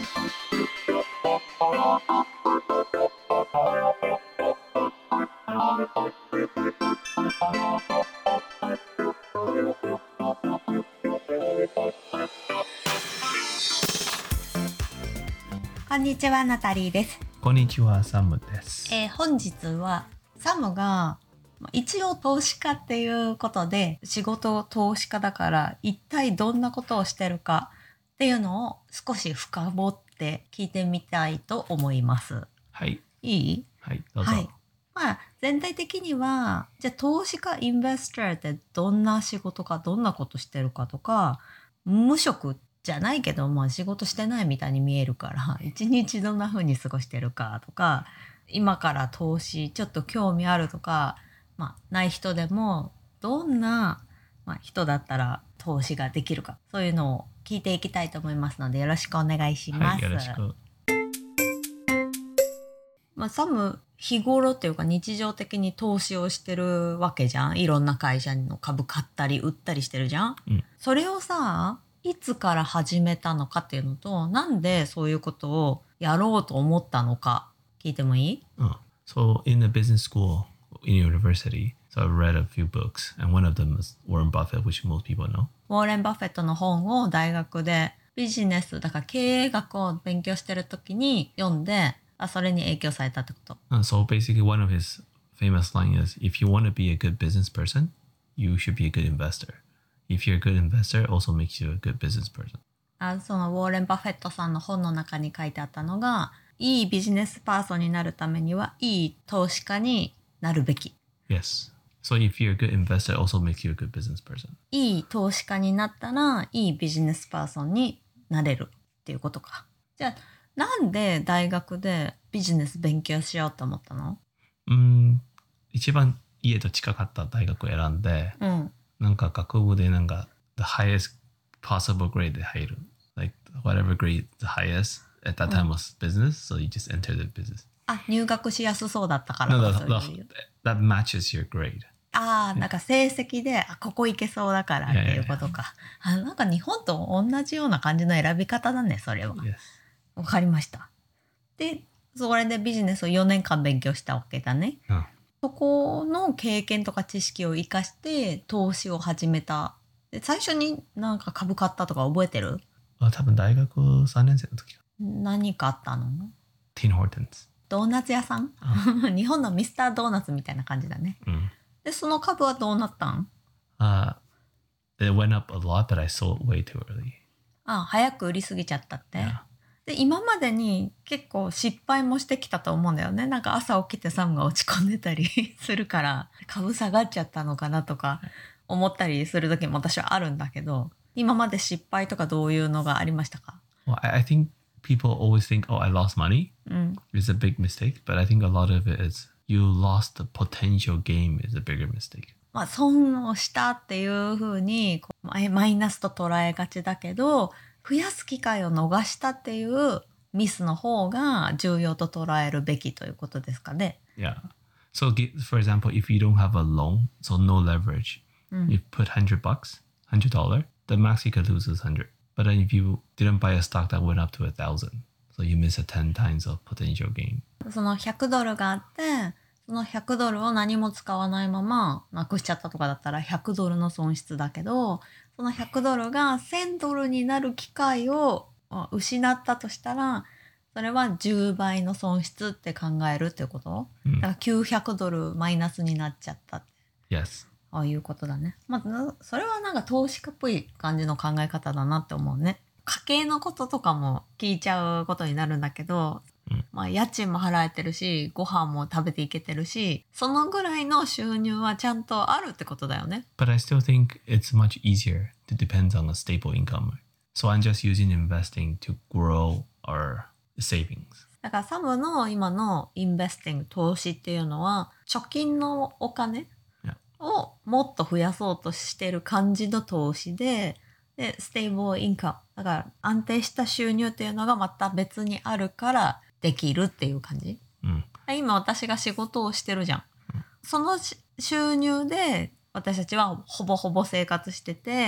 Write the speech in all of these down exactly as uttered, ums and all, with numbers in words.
こんにちは、ナタリーです。 こんにちは、サムです。 えー、本日はサムが一応投資家っていうことで、仕事投資家だから一体どんなことをしてるかっていうのを少し深掘って聞いてみたいと思います。 はい。 いい？ はい、どうぞ。 はい。まあ、全体的には、じゃあ投資家、インベスターってどんな仕事か、どんなことしてるかとか、無職じゃないけど、まあ仕事してないみたいに見えるから、一日どんな風に過ごしてるかとか、今から投資ちょっと興味あるとか、まあない人でも、どんな、まあ、人だったら投資ができるか、そういうのを聞いていきたいと思いますので、よろしくお願いします。 はい、よろしく。 まあ、サム、日頃っていうか日常的に投資をしてるわけじゃん。いろんな会社の株買ったり売ったりしてるじゃん。 うん、 それをさ、いつから始めたのかっていうのと、なんでそういうことをやろうと思ったのか、聞いてもいい？ うん。So, in a business school, in university, so I've read a few books, and one of them is Warren Buffett, which most people know. ウォーレン・バフェットの本を大学でビジネス、だから経営学を勉強してる時に読んで、あ、それに影響されたってこと。 Uh, so, basically, one of his famous lines is, if you want to be a good business person, you should be a good investor. If you're a good investor, also makes you a good business person. あ、そのウォーレン・バフェットさんの本の中に書いてあったのが、いいビジネスパーソンになるためには、いい投資家になるべき。 Yes. So, if you're a good investor, also makes you a good business person. いい投資家になったら、いいビジネスパーソンになれるっていうことか。じゃあ、なんで大学でビジネス勉強しようと思ったの？ うん、一番家と近かった大学を選んで、 うん。 なんか学部でなんか the highest possible grade で入る。Like whatever grade the highest at that time was business, so you just enter the business. あ、入学しやすそうだったから。 No, そう that, いう that, that matches your grade. ああ、なんか成績で、あ、ここ行けそうだからっていうことか。あ、なんか日本と同じような感じの選び方だね、それは。 Yes. わかりました。で、それでビジネスをよねんかん勉強したわけだね。 うん。 そこの経験とか知識を活かして投資を始めた。で、最初になんか株買ったとか覚えてる？ あ、多分大学さんねん生の時か。 何かあったの？ ティン・ホーテンズ。 ドーナツ屋さん？日本のミスタードーナツみたいな感じだね。 うん。 で、その株はどうなったん？ Uh, it went up a lot, but I sold way too early. あ、早く売りすぎちゃったって。 Yeah. で、今までに結構失敗もしてきたと思うんだよね。なんか朝起きてサムが落ち込んでたりするから、株下がっちゃったのかなとか思ったりする時も私はあるんだけど、今まで失敗とかどういうのがありましたか？ Well, I, I think people always think, oh, I lost money. うん。 It's a big mistake, but I think a lot of it is you lost the potential gain is a bigger mistake. まあ、損をしたっていうふうにこうマイマイナスと捉えがちだけど、増やす機会を逃したっていうミスの方が重要と捉えるべきということですかね。 Yeah. So, gi- for example, if you don't have a loan, so no leverage, you put hundred bucks, hundred dollar, the max you could lose is hundred. But then if you didn't buy a stock that went up to a thousand, so you miss a ten times of potential gain. そのひゃくドルがあって、そのひゃくドルを何も使わないままなくしちゃったとかだったらひゃくドルの損失だけど、そのひゃくドルがせんドルになる機会を失ったとしたら、それはじゅうばいの損失って考えるってこと？だからきゅうひゃくドルマイナスになっちゃったって。 Yes. ああいうことだね。まあ、それはなんか投資家っぽい感じの考え方だなって思うね。家計のこととかも聞いちゃうことになるんだけど、まあ家賃も払えてるし、ご飯も食べていけてるし、そのぐらいの収入はちゃんとあるってことだよね。 But I still think it's much easier to depend on a stable income. So I'm just using investing to grow our savings. だからサムの今のインベスティング、投資っていうのは、貯金のお金 Yeah. をもっと増やそうとしてる感じの投資で、で、ステーブルインカム。だから安定した収入っていうのがまた別にあるからできるっていう感じ。 うん。 今私が仕事をしてるじゃん。その収入で私たちはほぼほぼ生活してて、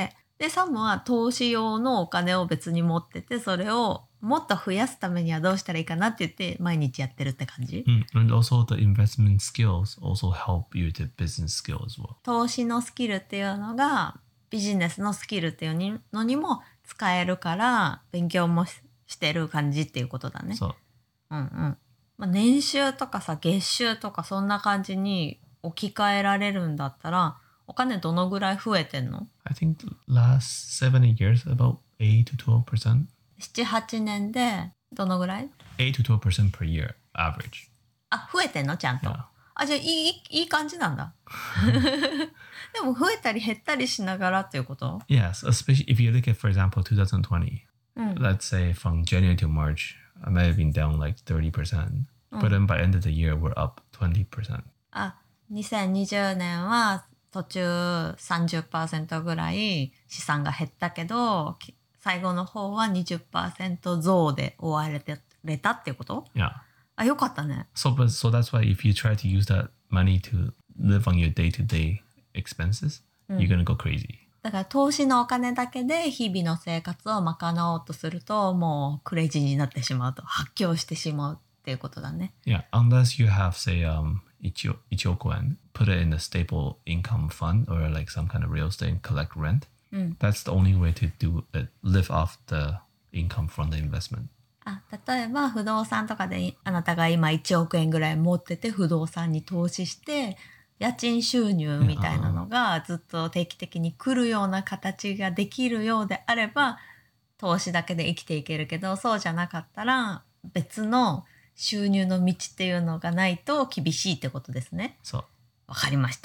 で、サムは投資用のお金を別に持ってて、それをもっと増やすためにはどうしたらいいかなって言って毎日やってるって感じ、 Mm. And also the investment skills also help you to business skill as well. 投資のスキルっていうのがビジネスのスキルっていうのにも使えるから勉強も し, してる感じっていうことだね。 そう。 うんうん。まあ、年収とかさ、月収とかそんな感じに置き換えられるんだったら、お金どのぐらい増えてんの？ I think the last seven, eight years, about eight to twelve percent. なな、はちねんでどのぐらい？ eight to twelve percent per year, average. あ、増えてんのちゃんと。 Yeah. あ、じゃあいい、いい感じなんだ。でも増えたり減ったりしながらっていうこと？ Yes, especially if you look at, for example, twenty twenty. うん。 Let's say from January to March, I might have been down like thirty percent. But then by end of the year, we're up twenty percent. あ、にせんにじゅうねんは途中 さんじゅっパーセント ぐらい資産が減ったけど、最後の方は にじゅっパーセント 増で終われてれたっていうこと？ Yeah. あ、よかったね。 So, but so that's why if you try to use that money to live on your day-to-day expenses, you're gonna go crazy. だから投資のお金だけで日々の生活を賄おうとすると、もうクレイジーになってしまうと、発狂してしまうっていうことだね。 Yeah, unless you have, say, um, ichio, ichiokuan, put it in a stable income fund or like some kind of real estate and collect rent. That's the only way to do it, live off the income from the investment. あ、例えば不動産とかであなたが今いちおくえんぐらい持ってて不動産に投資して家賃収入みたいなのがずっと定期的に来るような形ができるようであれば投資だけで生きていけるけど、そうじゃなかったら別の収入の道っていうのがないと厳しいってことですね。 So, わかりました。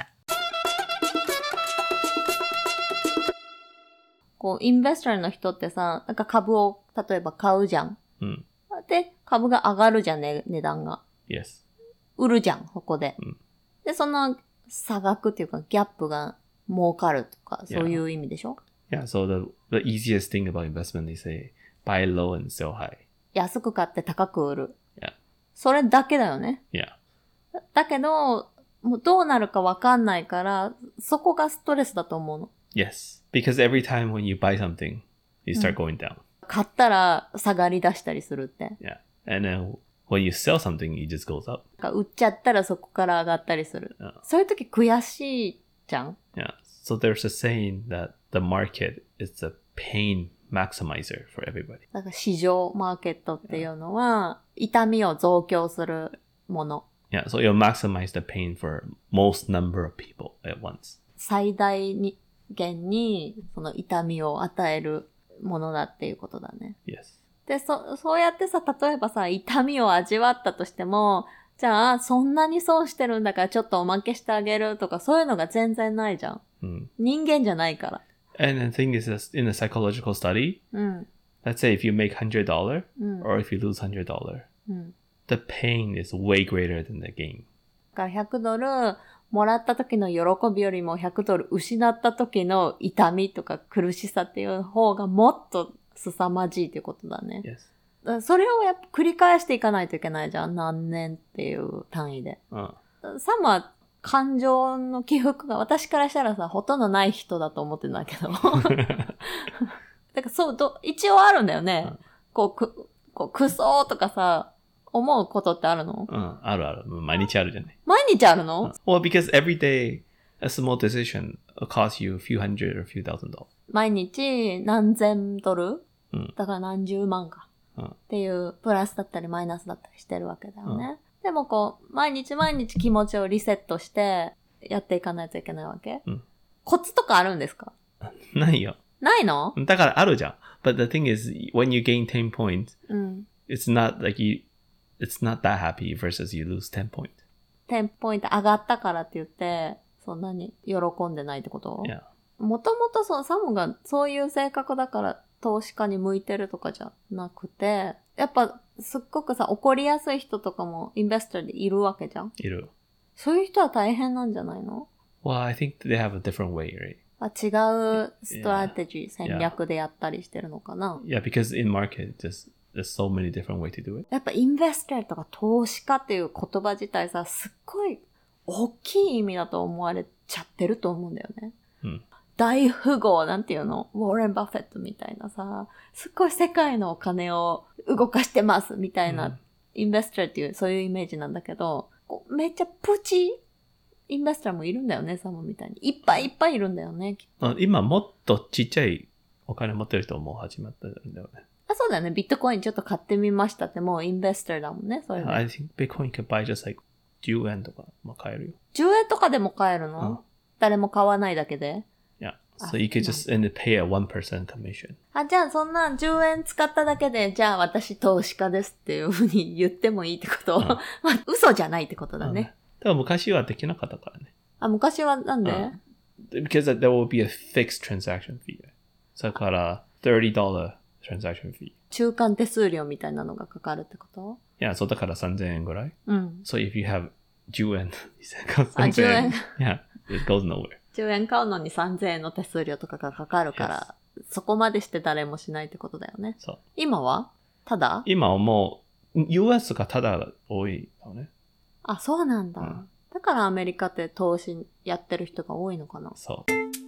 こうインベスターの人ってさ、なんか株を例えば買うじゃん。 mm, で、株が上がるじゃんね、値段が。 yes. 売るじゃん、ここで。 うんで、その差額っていうかギャップが儲かるとか、そういう意味でしょ？ Yeah, so the, the easiest thing about investment, they say, buy low and sell high. 安く買って高く売る。 Yeah. それだけだよね。 Yeah. だだけど、もうどうなるかわかんないから、そこがストレスだと思うの。 Yes. Because every time when you buy something, you start going down. 買ったら下がり出したりするって。 Yeah. And then when you sell something, it just goes up. 売っちゃったらそこから上がったりする。 Yeah. そういう時悔しいじゃん。 Yeah. So there's a saying that the market is the pain maximizer for everybody. だから市場マーケットっていうのは、痛みを増強するもの。 Yeah. So it'll maximize the pain for most number of people at once. 最大に限にその痛みを与えるものだっていうことだね。 Yes. で、そ、そうやってさ、例えばさ、痛みを味わったとしても、じゃあ、そんなに損してるんだからちょっとおまけしてあげるとか、そういうのが全然ないじゃん。 Mm. 人間じゃないから。 And the thing is, this, in a psychological study, うん。 let's say if you make one hundred dollars うん。 or if you lose one hundred dollars, うん。 the pain is way greater than the gain. だからひゃくドルもらった時の喜びよりもひゃくドル失った時の痛みとか苦しさっていう方がもっと凄まじいってことだね。 Yes. だからそれをやっぱ繰り返していかないといけないじゃん。何年っていう単位で。 Uh, サムは感情の起伏が私からしたらさ、ほとんどない人だと思ってんだけど。だからそう、ど、一応あるんだよね。こう、く、こう、くそーとかさ、思うことってあるの？ uh, あるある。毎日あるじゃない。 毎日あるの？ Well, because every day a small decision costs you a few hundred or a few thousand dollars. 毎日何千ドル、 うん、 だから何十万か、 うん、 っていうプラスだったりマイナスだったりしてるわけだよね。うん、でもこう、毎日毎日気持ちをリセットしてやっていかないといけないわけ。 うん、 コツとかあるんですか？ ないよ。 ないの？ だからあるじゃん。But the thing is, when you gain ten points, うん、 it's not like you, it's not that happy versus you lose ten points. テンポイント上がったからって言って、そんなに喜んでないってこと？ Yeah. もともとそのサムがそういう性格だから投資家に向いてるとかじゃなくて、やっぱすっごくさ、怒りやすい人とかもインベスターでいるわけじゃん。 いる。 そういう人は大変なんじゃないの？ Well, I think they have a different way, right? あ、違うストラテジー、yeah. 戦略でやったりしてるのかな？ Yeah, because in market, just, there's so many different ways to do it. やっぱインベスターとか投資家っていう言葉自体さ、すっごい大きい意味だと思われちゃってると思うんだよね。 うん。 大富豪、なんていうのウォーレン・バフェットみたいなさ、すっごい世界のお金を動かしてますみたいな、うん、インベスターっていうそういうイメージなんだけど、めっちゃプチインベスターもいるんだよね、サムみたいに。いっぱいいっぱいいるんだよね。きっと今もっとちっちゃいお金持ってる人も始まったんだよね。 あ、そうだよね。ビットコインちょっと買ってみましたってもうインベスターだもんね。それで。 I think Bitcoin can buy just like じゅうえんとかも買えるよ。 じゅうえんとかでも買えるの、うん、誰も買わないだけで。 Yeah. So you can just and pay a one percent commission. あ、じゃあそんなじゅうえん使っただけで、じゃあ私投資家ですっていうふうに言ってもいいってこと、うん、まあ嘘じゃないってことだね。うん、 だから昔はできなかったからね。 あ、昔はなんで、うん、 Because there will be a fixed transaction fee. だから thirty dollars transaction fee. 中間手数料みたいなのがかかるってこと？ いや、そうだからさんぜんえんぐらい。 うん。 So if you have じゅうえん、 あ、じゅうえん。 Yeah, it goes nowhere. じゅうえん買うのにさんぜんえんの手数料とかがかかるから、yes. そこまでして誰もしないってことだよね。 そう。 今はただ？ 今はもう ユーエス がただ多いよね。 あ、そうなんだ。うん、だからアメリカって投資やってる人が多いのかな。 そう。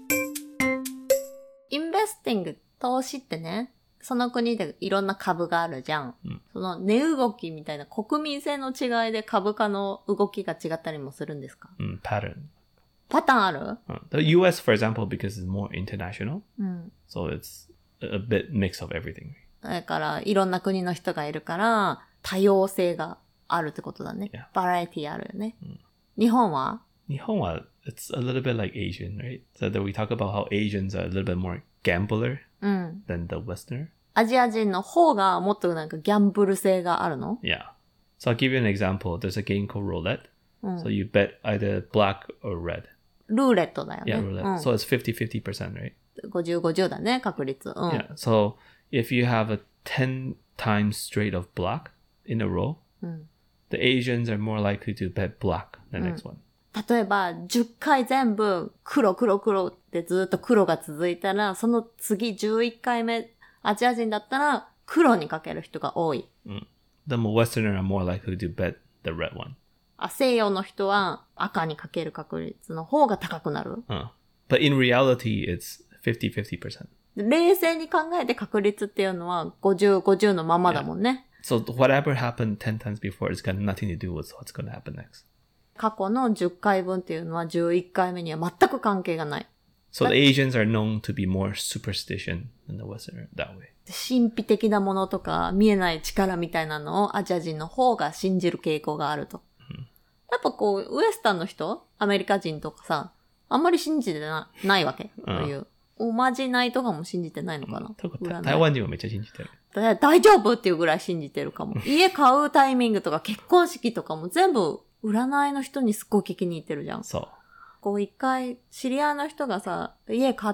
インベスティング、投資ってね、その国でいろんな株があるじゃん。 うん、 その値動きみたいな国民性の違いで株価の動きが違ったりもするんですか？ うん、パターン。 パターンある？ うん。The ユーエス, for example, because it's more international. うん。 So it's a bit mix of everything. だからいろんな国の人がいるから多様性があるってことだね。 Yeah. バラエティあるよね。 うん、 日本は？ 日本は it's a little bit like Asian, right? So that we talk about how Asians are a little bit more gambler、 うん、 than the Westerner. アジア人の方がもっとなんかギャンブル性があるの？ Yeah. So I'll give you an example. There's a game called roulette. うん、 So you bet either black or red. ルーレットだよね。 Yeah, roulette.、うん、so it's fifty fifty percent, right? ごじゅうごじゅうだね、確率。うん、 yeah. So if you have a ten times straight of black in a row,、うん、the Asians are more likely to bet black the next one.、 うん、例えばじゅっかい全部黒黒黒ってずっと黒が続いたら、その次じゅういっかいめアジア人だったら黒にかける人が多い。 うん。でも Westerner are more likely to bet the red one. あ、西洋の人は赤にかける確率の方が高くなる。 うん。But in reality, it's fifty fifty percent. 冷静に考えて確率っていうのはごじゅうごじゅうのままだもんね。 Yeah. So whatever happened ten times before is got nothing to do with what's going to happen next. 過去のじゅっかいぶんっていうのはじゅういっかいめには全く関係がない。 So the Asians are known to be more superstition than the Westerner that way. 神秘的なものとか見えない力みたいなのをアジア人の方が信じる傾向があると。 うん、 やっぱこう、ウエスタンの人、アメリカ人とかさ、あんまり信じて な, ないわけ。という。おまじないとかも信じてないのかな。 うん、台湾人はめっちゃ信じてる。 大丈夫っていうぐらい信じてるかも。家買うタイミングとか結婚式とかも全部占いの人にすっごい聞きに行ってるじゃん。 そう。 こう一回、知り合いの人がさ、家買って、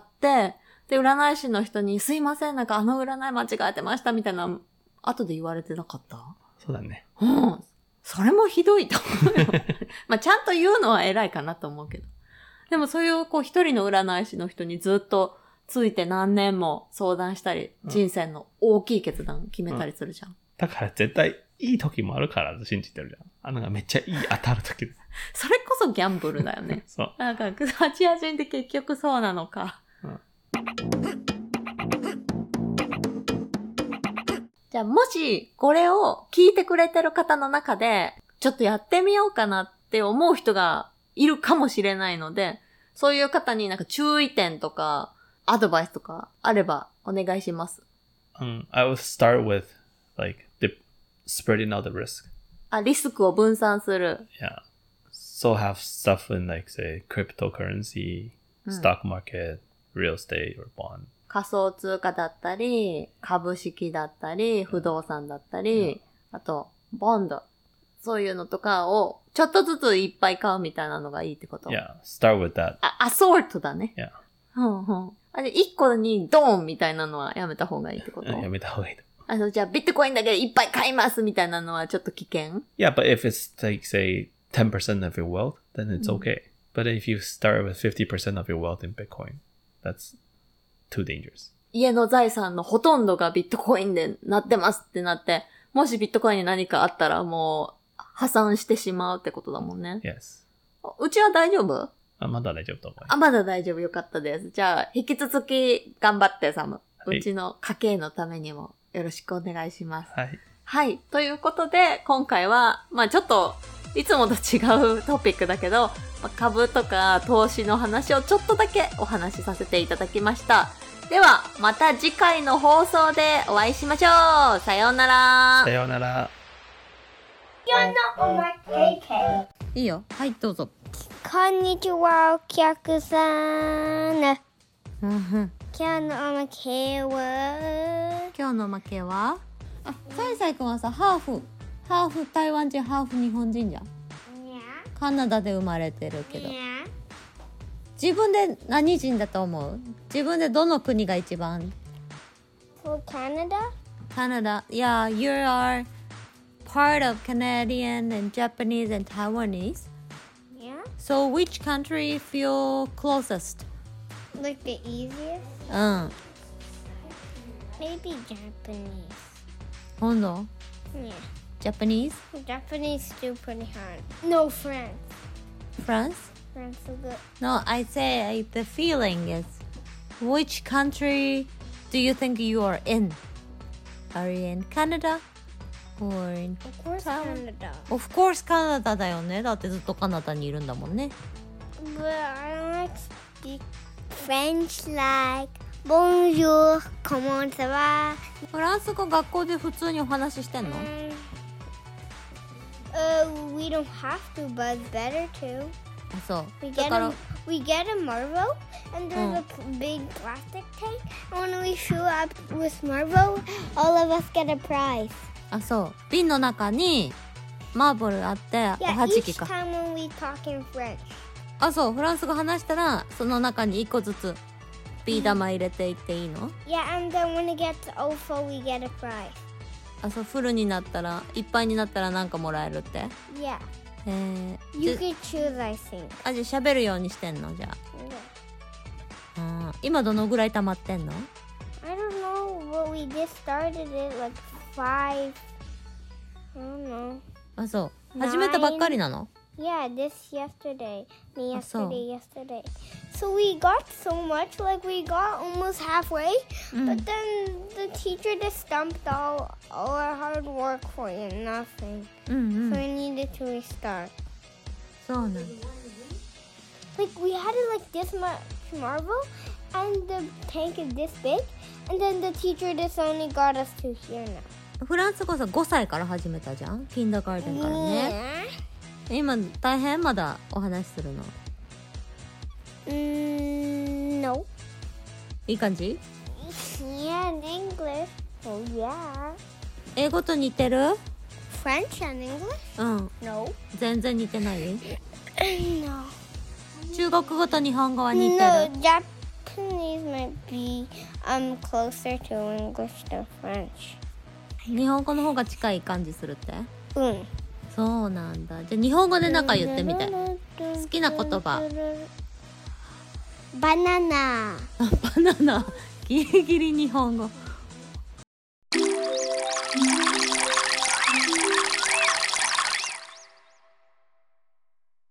で、占い師の人に、すいません、なんかあの占い間違えてましたみたいな、後で言われてなかった？ そうだね。 うん。それもひどいと思うよ。まあ、ちゃんと言うのは偉いかなと思うけど。でもそういう、こう一人の占い師の人にずっとついて何年も相談したり、うん、人生の大きい決断決めたりするじゃん。うん、 だから絶対いい時もあるから信じてるじゃん。あのがめっちゃいい当たる時。 それこそギャンブルだよね。 そう。 なんか、アジア人って結局そうなのか。うん、じゃあ、もし、これを聞いてくれてる方の中で、ちょっとやってみようかなって思う人がいるかもしれないので、そういう方になんか注意点とか、アドバイスとかあればお願いします。 Um, I would start with, like, the spreading out the risk. あ、リスクを分散する。 Yeah. So have stuff in, like, say, cryptocurrency, stock market, real estate, or bond. 仮想通貨だったり、株式だったり、不動産だったり、あと、ボンド。そういうのとかを、ちょっとずついっぱい買うみたいなのがいいってこと？ Yeah, start with that. あ、アソートだね。 Yeah. うんうん。あれ、一個にドーンみたいなのはやめた方がいいってこと？ やめた方がいい。 あの、じゃあ、ビットコインだけでいっぱい買いますみたいなのはちょっと危険？ Yeah, but if it's like, say, ten percent of your wealth, then it's okay. But if you start with fifty percent of your wealth in Bitcoin, that's too dangerous. 家の財産のほとんどがビットコインでなってますってなって、もしビットコインに何かあったらもう破産してしまうってことだもんね。 Yes. うちは大丈夫？ あ、まだ大丈夫と思うよ。 あ、まだ大丈夫。よかったです。じゃあ、引き続き頑張ってサム。 はいうちの家計のためにもよろしくお願いします。 はい。 はい。ということで、今回は、まあちょっと、いつもと違うトピックだけど、まあ株とか投資の話をちょっとだけお話しさせていただきました。では、また次回の放送でお会いしましょう。さようならさ。ようなら。 いいよ。はい、どうぞ。 こんにちは、お客さん。 うんうん今日のおまけは、 今日の負けはあ、サイサイ君はさ、ハーフ、ハーフ台湾人、ハーフ日本人じゃん。カナダで生まれてるけど。自分で何人だと思う？自分でどの国が一番？ For Canada? カナダ。Yeah, you are part of Canadian and Japanese and Taiwanese. Yeah. So which country feel closest? Like the easiest? うん。 Maybe Japanese. 今度 Yeah. Japanese? Japanese still pretty hard. No, France. France? France is good. No, I say the feeling is which country do you think you are in? Are you in Canada? Or in... Of course, Canada. Of course, カナダだよね。だってずっとカナダにいるんだもんね。 But I don't like speak French like Bonjour, comment ça va? フランス語学校で普通にお話ししてんの？ Um, uh, we don't have to, but it's better to. あ、そう。 We だ get から a, we get a Marvel, and there's a p- big plastic tank. And when we shoot up with Marvel, all of us get a prize. あ、そう。瓶の中にマーブルあってお Yeah, はじ each きか。 time when we talk in French. あ、そう。フランス語話したらその中に一個ずつビー玉入れていっていいの？ Yeah, and then when it gets full, we get a prize. あ、そう。フルになったらいっぱいになったらなんかもらえるって。 Yeah, えー、 you じゃ could choose, I think. あ、じゃあ喋るようにしてんの？じゃ Yeah. あ。あー今どのぐらい溜まってんの？ I don't know, but we just started it like five. I don't know. あ、そう。始めたばっかりなの？ Yeah, this yesterday. Me Oh, so. yesterday, yesterday. So we got so much, like we got almost halfway, but then the teacher just stumped all, all our hard work for you, nothing. うんうん。 So we needed to restart. そうなんだ。 Like we had it like this much marble, and the tank is this big, and then the teacher just only got us to here now. フランス語さごさいから始めたじゃん？キンダーガーデンからね。 Yeah. 今大変まだお話しするの。 Mm, no. いい感じ？ Yeah, in English. Oh yeah. 英語と似てる？ French and English? うん。 No. 全然似てない？ No. 中国語と日本語は似て No, る？ Japanese might be um closer to English than French. 日本語の方が近い感じするって？ Mm. そうなんだ。じゃあ日本語でなんか言ってみて。好きな言葉。 Banana. あ、バナナ。ギリギリ日本語。